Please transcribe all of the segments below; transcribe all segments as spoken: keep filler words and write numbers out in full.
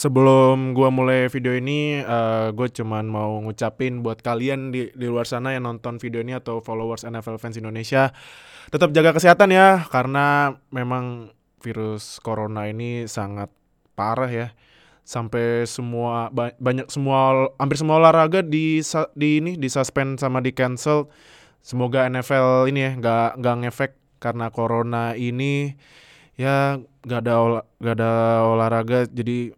Sebelum gua mulai video ini, eee, gue cuman mau ngucapin buat kalian di di luar sana yang nonton video ini atau followers N F L Fans Indonesia, tetap jaga kesehatan ya, karena memang virus corona ini sangat parah ya. Sampai semua ba banyak semua hampir semua olahraga di sa di ini, di-suspend sama di-cancel. Semoga N F L ini ya nggak nggak ngefek karena corona ini, ya nggak ada ola nggak ada olahraga jadi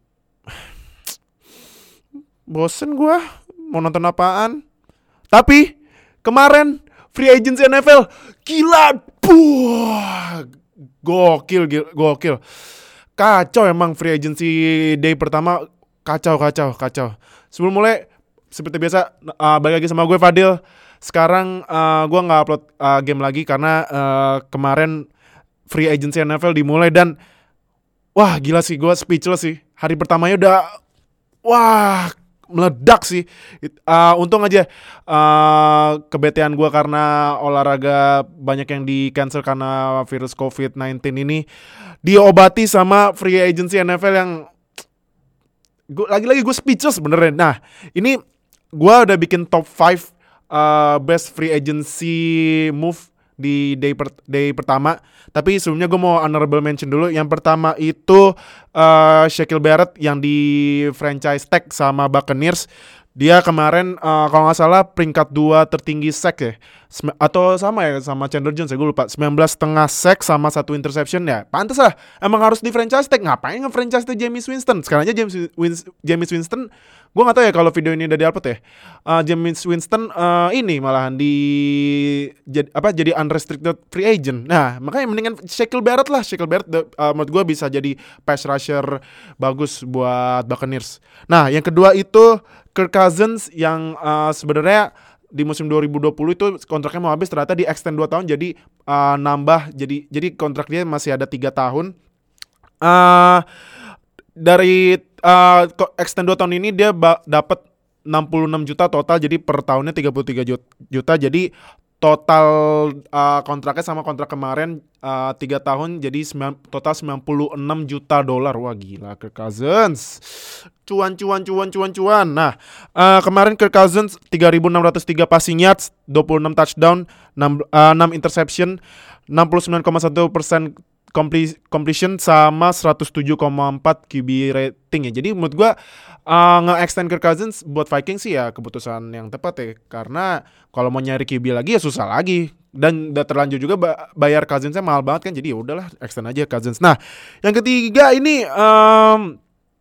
bosen gua mau nonton apaan. Tapi kemarin free agency N F L gila, buah, gokil, gil- gokil, kacau emang free agency day pertama, kacau, kacau, kacau. Sebelum mulai, seperti biasa, uh, balik lagi sama gue Fadil. Sekarang uh, gue nggak upload uh, game lagi karena uh, kemarin free agency N F L dimulai dan wah gila sih, gue speechless sih. Hari pertamanya udah wah meledak sih. It- uh, untung aja uh, kebetean gue karena olahraga banyak yang di cancel karena virus covid sembilan belas ini diobati sama free agency N F L yang gua, lagi-lagi gue speechless beneran. Nah ini gue udah bikin top lima uh, best free agency move di day, per, day pertama. Tapi sebelumnya gue mau honorable mention dulu. Yang pertama itu uh, Shaquille Barrett yang di franchise tag sama Buccaneers. Dia kemarin uh, kalau gak salah peringkat dua tertinggi sack ya. Sem- Atau sama ya sama Chandler Jones ya, gue lupa. sembilan belas setengah sack sama satu interception ya. Pantes lah, emang harus di franchise tag. Ngapain nge-franchise tag Jameis Winston? Sekarang aja James Wins- Jameis Winston, gue gak tahu ya kalau video ini udah di-upload ya. Uh, Jameis Winston uh, ini malahan di jad, apa jadi unrestricted free agent. Nah makanya mendingan Shaquille Barrett lah. Shaquille Barrett uh, menurut gue bisa jadi pass rusher bagus buat Buccaneers. Nah yang kedua itu Kirk Cousins yang uh, sebenarnya di musim dua ribu dua puluh itu kontraknya mau habis, ternyata di extend dua tahun jadi uh, nambah jadi jadi kontrak dia masih ada tiga tahun. Uh, dari uh, extend dua tahun ini dia ba- dapat enam puluh enam juta total, jadi per tahunnya tiga puluh tiga juta. Jadi total uh, kontraknya sama kontrak kemarin uh, tiga tahun jadi sembilan, total sembilan puluh enam juta dolar. Wah gila Kirk Cousins. Cuan cuan cuan cuan cuan. Nah, uh, kemarin Kirk Cousins tiga ribu enam ratus tiga passing yards, dua puluh enam touchdown, enam, uh, enam interception, enam puluh sembilan koma satu persen completion sama seratus tujuh koma empat Q B rating ya. Jadi menurut gua uh, nge-extend Kirk Cousins buat Vikings sih ya keputusan yang tepat ya. Karena kalau mau nyari Q B lagi ya susah lagi. Dan udah terlanjur juga ba- bayar Cousinsnya mahal banget kan. Jadi ya udahlah extend aja Cousins. Nah, yang ketiga ini um,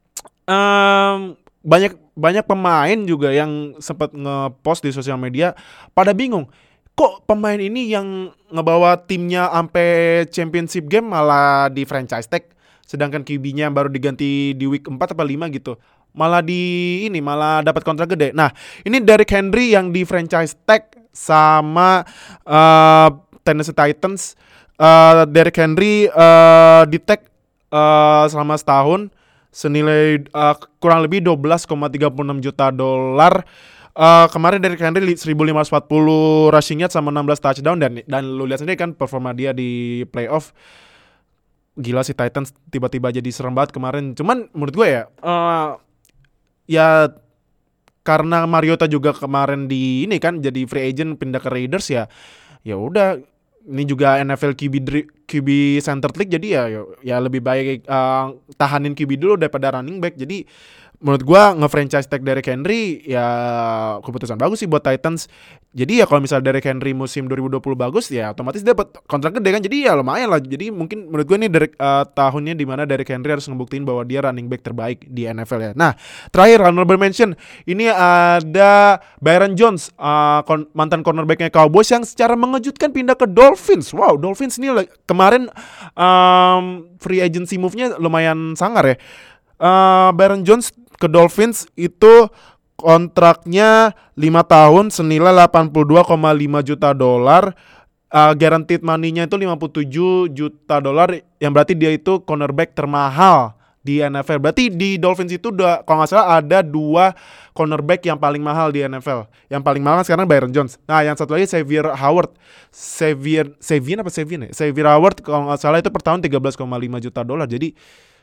um, banyak banyak pemain juga yang sempat nge-post di sosial media pada bingung. Kok pemain ini yang ngebawa timnya sampai championship game malah di franchise tag, sedangkan Q B-nya baru diganti di week empat atau lima gitu. Malah di ini malah dapat kontrak gede. Nah, ini Derrick Henry yang di franchise tag sama uh, Tennessee Titans. Uh, Derrick Henry uh, di tag uh, selama setahun senilai uh, kurang lebih dua belas koma tiga puluh enam juta dolar. Uh, kemarin dari Henry seribu lima ratus empat puluh rushing yards sama enam belas touchdown dan dan lu lihat sendiri kan performa dia di playoff. Gila sih Titans tiba-tiba jadi serem banget kemarin. Cuman menurut gue ya uh, ya karena Mariota juga kemarin di ini kan jadi free agent pindah ke Raiders ya. Ya udah, ini juga N F L Q B Q B Center League jadi ya ya lebih baik uh, tahanin Q B dulu daripada running back. Jadi menurut gua nge-franchise tag Derrick Henry ya keputusan bagus sih buat Titans. Jadi ya kalau misalnya Derrick Henry musim dua ribu dua puluh bagus ya otomatis dia dapat kontrak gede kan. Jadi ya lumayan lah. Jadi mungkin menurut gua ini Derrick, uh, tahunnya di mana Derrick Henry harus ngebuktiin bahwa dia running back terbaik di N F L ya. Nah, terakhir honorable mention ini ada Byron Jones, uh, kon- mantan cornerbacknya Cowboys yang secara mengejutkan pindah ke Dolphins. Wow, Dolphins ini like, kemarin um, free agency move-nya lumayan sangar ya. Uh, Byron Jones ke Dolphins itu kontraknya lima tahun senilai delapan puluh dua koma lima juta dolar. Uh, guaranteed money-nya itu lima puluh tujuh juta dolar, yang berarti dia itu cornerback termahal di N F L. Berarti di Dolphins itu udah, kalau nggak salah ada dua cornerback yang paling mahal di N F L. Yang paling mahal sekarang Byron Jones. Nah, yang satu lagi Xavier Howard. Xavier Xavier apa Xavier ya? Xavier Howard kalau nggak salah itu per tahun tiga belas koma lima juta dolar. Jadi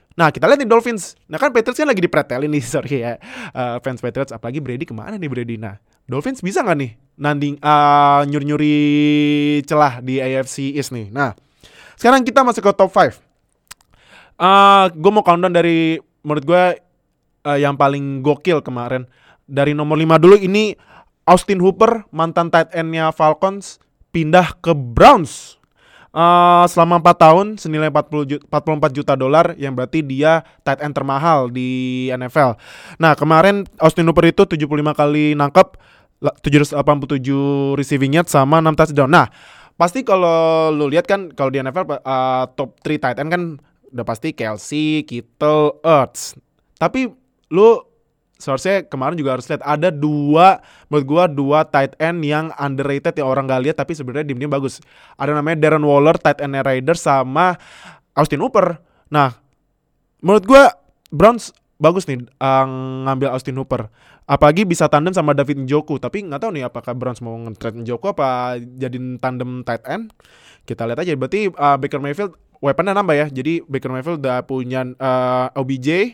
Nah kita lihat nih Dolphins. Nah kan Patriots kan lagi dipretelin nih, sorry ya uh, fans Patriots. Apalagi Brady kemana nih Brady. Nah Dolphins bisa gak nih nanding uh, nyuri-nyuri celah di A F C East nih. Nah sekarang kita masuk ke top lima. uh, Gue mau countdown dari menurut gue uh, yang paling gokil kemarin. Dari nomor lima dulu, ini Austin Hooper, mantan tight end-nya Falcons, pindah ke Browns. Uh, selama empat tahun senilai empat puluh empat juta dolar, yang berarti dia tight end termahal di N F L. Nah kemarin Austin Hooper itu tujuh puluh lima kali nangkep, tujuh ratus delapan puluh tujuh receiving yards sama enam touchdown. Nah pasti kalau lu lihat kan kalau di N F L uh, top tiga tight end kan udah pasti Kelsey, Kittle, Ertz. Tapi lu seharusnya kemarin juga harus lihat ada dua, menurut gua dua tight end yang underrated yang orang gak lihat tapi sebenarnya dim-dim bagus. Ada namanya Darren Waller, tight end Raiders, sama Austin Hooper. Nah, menurut gua Browns bagus nih uh, ngambil Austin Hooper. Apalagi bisa tandem sama David Njoku. Tapi nggak tahu nih apakah Browns mau nge-trade Njoku apa jadiin tandem tight end. Kita lihat aja. Berarti uh, Baker Mayfield weaponnya nambah ya. Jadi Baker Mayfield udah punya uh, O B J,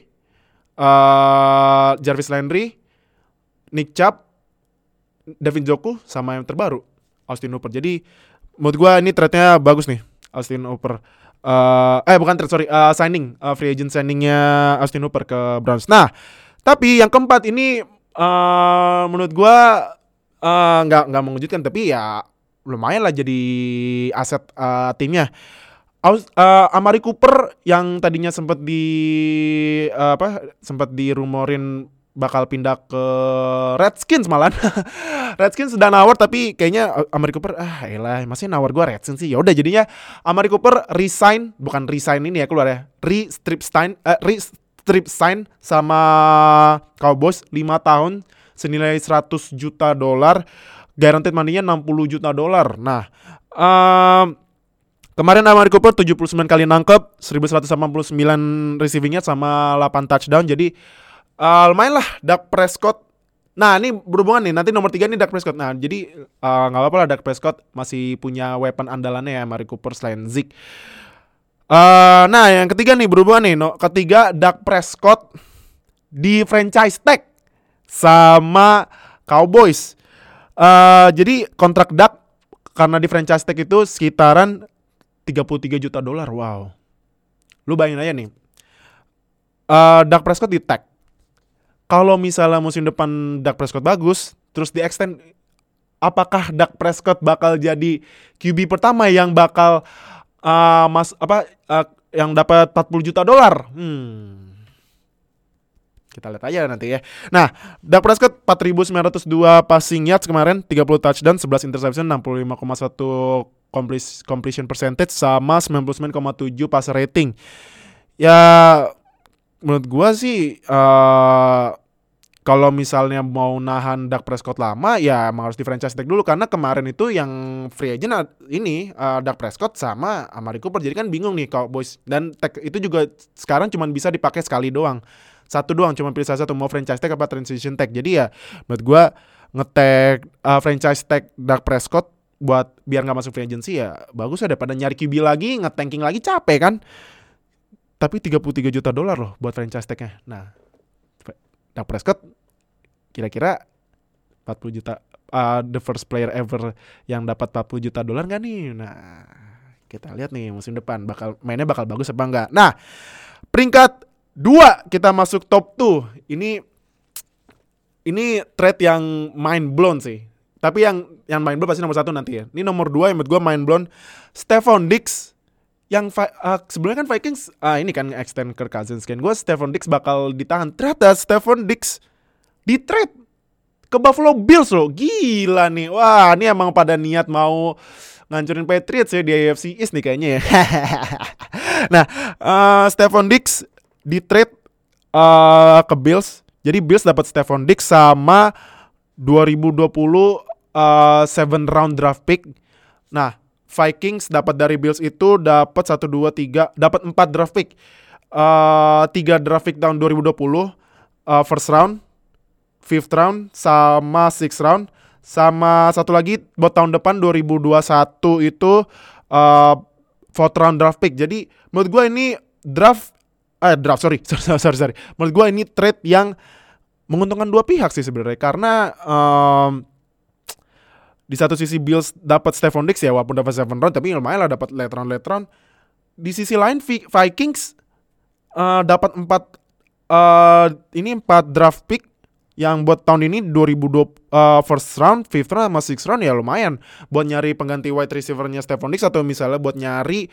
Uh, Jarvis Landry, Nick Chubb, David Njoku, sama yang terbaru Austin Hooper. Jadi menurut gue ini trade-nya bagus nih Austin Hooper. uh, Eh bukan trade sorry uh, Signing uh, free agent signingnya Austin Hooper ke Browns. Nah tapi yang keempat ini uh, menurut gue uh, Gak, gak mengejutkan, tapi ya lumayan lah jadi aset uh, timnya. Uh, Amari Cooper yang tadinya sempat di uh, apa sempat dirumorin bakal pindah ke Redskins malah. Redskins sudah nawar tapi kayaknya Amari Cooper ah elah masih nawar gua Redskins sih. Ya udah jadinya Amari Cooper resign, bukan resign ini ya keluar ya. Re-strip sign uh, re-strip sign sama Cowboys lima tahun senilai seratus juta dolar. Guaranteed money-nya enam puluh juta dolar. Nah, um, kemarin Amari Cooper tujuh puluh sembilan kali nangkep, seribu seratus delapan puluh sembilan receiving yards sama delapan touchdown. Jadi uh, lumayan lah Dak Prescott. Nah ini berhubungan nih, nanti nomor tiga nih Dak Prescott. Nah jadi uh, gak apa-apa lah Dak Prescott masih punya weapon andalannya ya Amari Cooper selain Zeke. uh, Nah yang ketiga nih berhubungan nih no, ketiga Dak Prescott di franchise tag sama Cowboys. uh, Jadi kontrak Dak karena di franchise tag itu sekitaran tiga puluh tiga juta dolar. Wow. Lu bayangin aja nih. Uh, Dak Prescott di tag. Kalau misalnya musim depan Dak Prescott bagus, terus di extend, apakah Dak Prescott bakal jadi Q B pertama yang bakal uh, mas apa uh, yang dapat empat puluh juta dolar? Hmm. Kita lihat aja nanti ya. Nah, Dak Prescott empat ribu sembilan ratus dua passing yards kemarin, tiga puluh touchdown, sebelas interception, enam puluh lima koma satu completion percentage sama sembilan puluh sembilan koma tujuh passer rating. Ya menurut gua sih uh, kalau misalnya mau nahan Dak Prescott lama ya emang harus di franchise tag dulu, karena kemarin itu yang free agent ini uh, Dak Prescott sama Amari Cooper. Jadi kan bingung nih Cowboys, dan tag itu juga sekarang cuma bisa dipakai sekali doang. Satu doang, cuma pilih salah satu, mau franchise tag apa transition tag. Jadi ya menurut gue nge-tag uh, franchise tag Dak Prescott buat biar gak masuk free agency ya bagus ya, daripada nyari Q B lagi, nge-tanking lagi capek kan. Tapi tiga puluh tiga juta dolar loh buat franchise tagnya. Nah Dak Prescott kira-kira empat puluh juta uh, the first player ever yang dapat empat puluh juta dolar gak nih? Nah kita lihat nih musim depan bakal mainnya bakal bagus apa enggak. Nah peringkat dua kita masuk top dua. Ini ini trade yang mind blown sih. Tapi yang yang mind blown pasti nomor satu nanti ya. Ini nomor dua yang menurut gue mind blown. Stephon Diggs yang uh, sebelumnya kan Vikings uh, ini kan extend Kirk Cousins kan. Gue Stephon Diggs bakal ditahan. Ternyata Stephon Diggs di trade ke Buffalo Bills loh. Gila nih. Wah, ini emang pada niat mau ngancurin Patriots ya di A F C East nih kayaknya ya. Nah, uh, Stephon Diggs di trade uh, ke Bills. Jadi Bills dapat Stephon Diggs sama dua ribu dua puluh uh, seven round draft pick. Nah, Vikings dapat dari Bills itu dapat satu dua tiga, dapat empat draft pick. Uh, tiga draft pick tahun dua ribu dua puluh, uh, first round, fifth round sama sixth round, sama satu lagi buat tahun depan dua ribu dua puluh satu itu uh, fourth round draft pick. Jadi menurut gue ini draft eh draft sorry sorry sorry, sorry. Menurut gue ini trade yang menguntungkan dua pihak sih sebenarnya, karena um, di satu sisi Bills dapat Stephon Diggs ya, walaupun dapat seven round tapi lumayan lah dapat late round late round. Di sisi lain Vikings uh, dapat empat uh, ini empat draft pick yang buat tahun ini dua ribu dua puluh uh, first round, fifth round sama sixth round ya lumayan buat nyari pengganti wide receiver-nya Stephon Diggs, atau misalnya buat nyari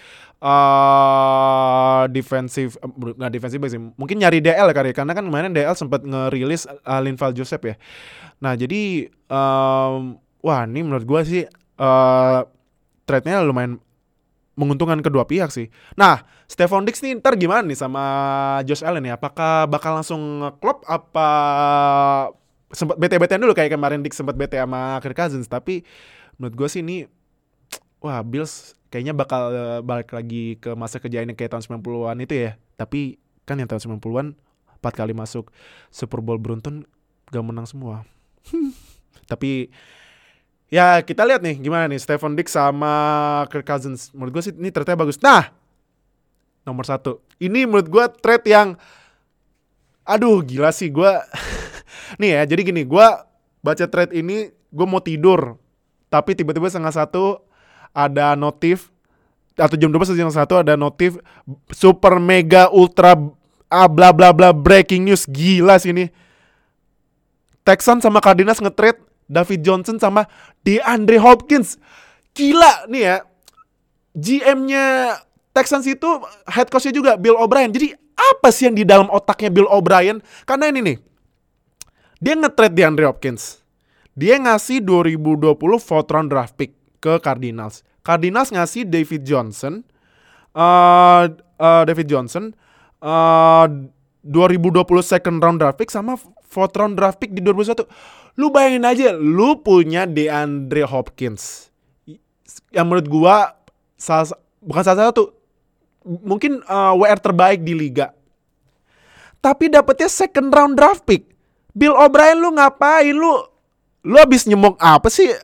uh, defensive uh, nggak defensive sih, mungkin nyari D L kali, karena kan kemarin D L sempat ngerilis uh, Linval Joseph ya. Nah jadi um, wah ini menurut gue sih uh, trade-nya lumayan menguntungkan kedua pihak sih. Nah, Stephon Diggs nih ntar gimana nih sama Josh Allen ya? Apakah bakal langsung nge-klop apa sempat bete-betean dulu kayak kemarin Diggs sempat bete sama Kirk Cousins, tapi menurut gue sih ini wah Bills kayaknya bakal uh, balik lagi ke masa kejayaan kayak tahun sembilan puluhan itu ya. Tapi kan yang tahun sembilan puluhan empat kali masuk Super Bowl beruntun gak menang semua. Tapi ya kita lihat nih gimana nih Stephon Diggs sama Kirk Cousins. Menurut gue sih ini trade-nya bagus. Nah, nomor satu, ini menurut gue trade yang aduh gila sih gue. Nih ya, jadi gini, gue baca trade ini gue mau tidur, tapi tiba-tiba setengah satu ada notif, atau jam dua belas setengah satu ada notif super mega ultra ah, bla bla bla breaking news. Gila sih ini. Texans sama Cardinals nge-trade David Johnson sama DeAndre Hopkins. Gila nih ya. G M-nya Texans itu head coach-nya juga Bill O'Brien. Jadi apa sih yang di dalam otaknya Bill O'Brien? Karena ini nih, dia nge-trade DeAndre Hopkins. Dia ngasih dua ribu dua puluh fourth round draft pick ke Cardinals. Cardinals ngasih David Johnson uh, uh, David Johnson uh, dua ribu dua puluh second round draft pick sama fourth round draft pick di dua ribu satu. Lu bayangin aja, lu punya DeAndre Hopkins yang menurut gua salah, bukan salah satu, mungkin uh, W R terbaik di liga. Tapi dapetnya second round draft pick. Bill O'Brien lu ngapain lu? Lu abis nyemok apa sih?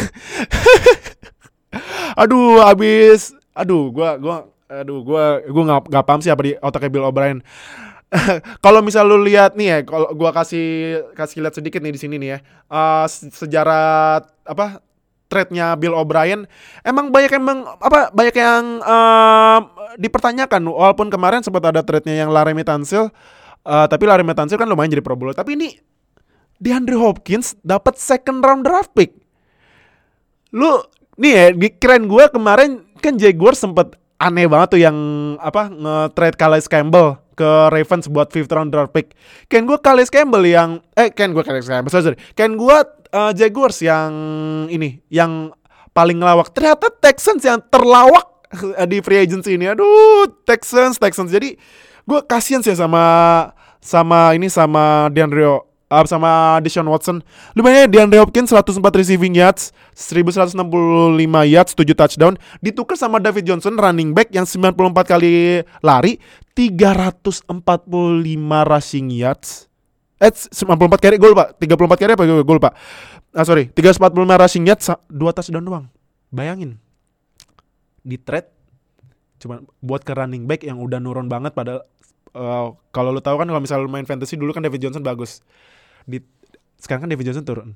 aduh, abis aduh, gua gua aduh, gua gua enggak enggak paham sih apa di otaknya Bill O'Brien. Kalau misal lu lihat nih ya, kalau gua kasih kasih lihat sedikit nih di sini nih ya. Uh, sejarah apa trade-nya Bill O'Brien emang banyak emang apa banyak yang uh, dipertanyakan, walaupun kemarin sempat ada trade-nya yang Laremy Tunsil, uh, tapi Laremy Tunsil kan lumayan jadi Pro Bowler. Tapi ini DeAndre Hopkins dapat second round draft pick. Lu nih ya, keren gua kemarin kan Jaguars sempat aneh banget tuh yang apa nge-trade Calais Campbell ke Ravens buat fifth round draft pick. Kan gue Calais Campbell yang eh kan gue Calais Campbell sorry, sorry. Kan gue uh, Jaguars yang ini yang paling ngelawak. Ternyata Texans yang terlawak di free agency ini. Aduh, Texans Texans. Jadi gue kasihan sih sama sama ini sama DeAndre uh, sama Deshaun Watson. Lumayan DeAndre Hopkins seratus empat receiving yards, seribu seratus enam puluh lima yards, tujuh touchdown, ditukar sama David Johnson running back yang sembilan puluh empat kali lari, tiga ratus empat puluh lima rushing yards. Eh sembilan puluh empat carry gol Pak. tiga puluh empat carry apa gol Pak? Ah sorry, tiga ratus empat puluh lima rushing yards, dua touchdown doang. Bayangin. Di trade cuma buat ke running back yang udah nurun banget, padahal uh, kalau lu tahu kan kalau misalnya lu main fantasy dulu kan David Johnson bagus. Di sekarang kan David Johnson turun.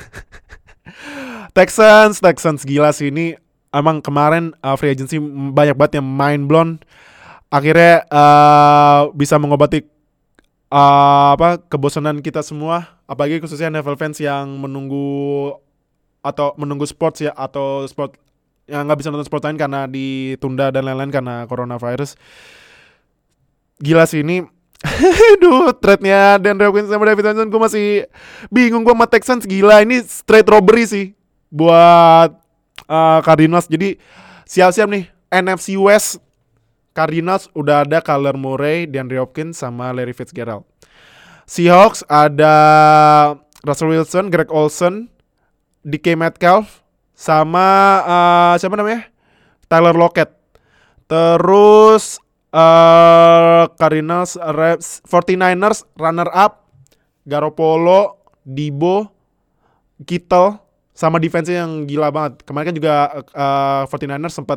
Texans, Texans gila sih ini. Emang kemarin uh, free agency banyak banget yang mind blown. Akhirnya uh, bisa mengobati uh, apa kebosanan kita semua, apalagi khususnya N F L fans yang menunggu atau menunggu sports ya, atau sport yang nggak bisa nonton sport lain karena ditunda dan lain-lain karena coronavirus. Gila sih ini. Duh, trade-nya DeAndre Hopkins sama David Johnson gue masih bingung. Gue sama Texans gila, ini straight robbery sih buat uh, Cardinals. Jadi siap-siap nih N F C West. Cardinals udah ada Kyler Murray, DeAndre Hopkins sama Larry Fitzgerald. Seahawks ada Russell Wilson, Greg Olsen, D K Metcalf sama uh, siapa namanya? Tyler Lockett. Terus uh, Cardinals, Rams, forty-niners runner up Garoppolo, Debo, Kittle sama defense yang gila banget. Kemarin kan juga uh, forty-niners sempat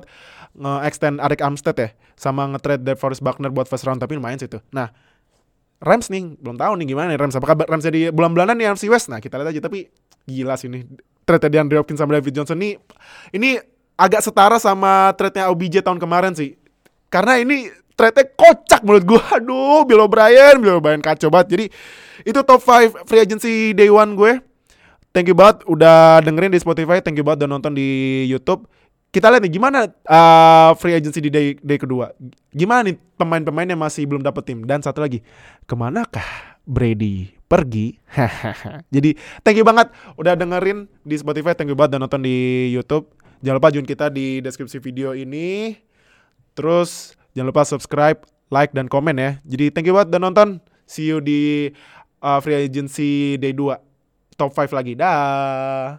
nge-extend Arik Armstead ya, sama nge-trade DeForest Buckner buat first round, tapi lumayan sih itu. Nah, Rams nih, belum tahu nih gimana nih Rams. Apakah Rams jadi bulan-bulanan nih N F C West? Nah, kita lihat aja. Tapi gila sih ini trade DeAndre Hopkins sama David Johnson nih. Ini agak setara sama trade-nya O B J tahun kemarin sih. Karena ini trade-nya kocak menurut gue. Aduh, Bill O'Brien, Bill O'Brien kacau banget. Jadi itu top lima free agency day one gue. Thank you banget udah dengerin di Spotify. Thank you banget udah nonton di YouTube. Kita lihat nih gimana uh, free agency di day, day kedua. Gimana nih pemain-pemain yang masih belum dapet tim. Dan satu lagi, kemanakah Brady pergi? Jadi thank you banget udah dengerin di Spotify. Thank you banget udah nonton di YouTube. Jangan lupa join kita di deskripsi video ini. Terus jangan lupa subscribe, like, dan komen ya. Jadi thank you banget udah nonton. See you di uh, free agency day dua. Top lima lagi. Dah.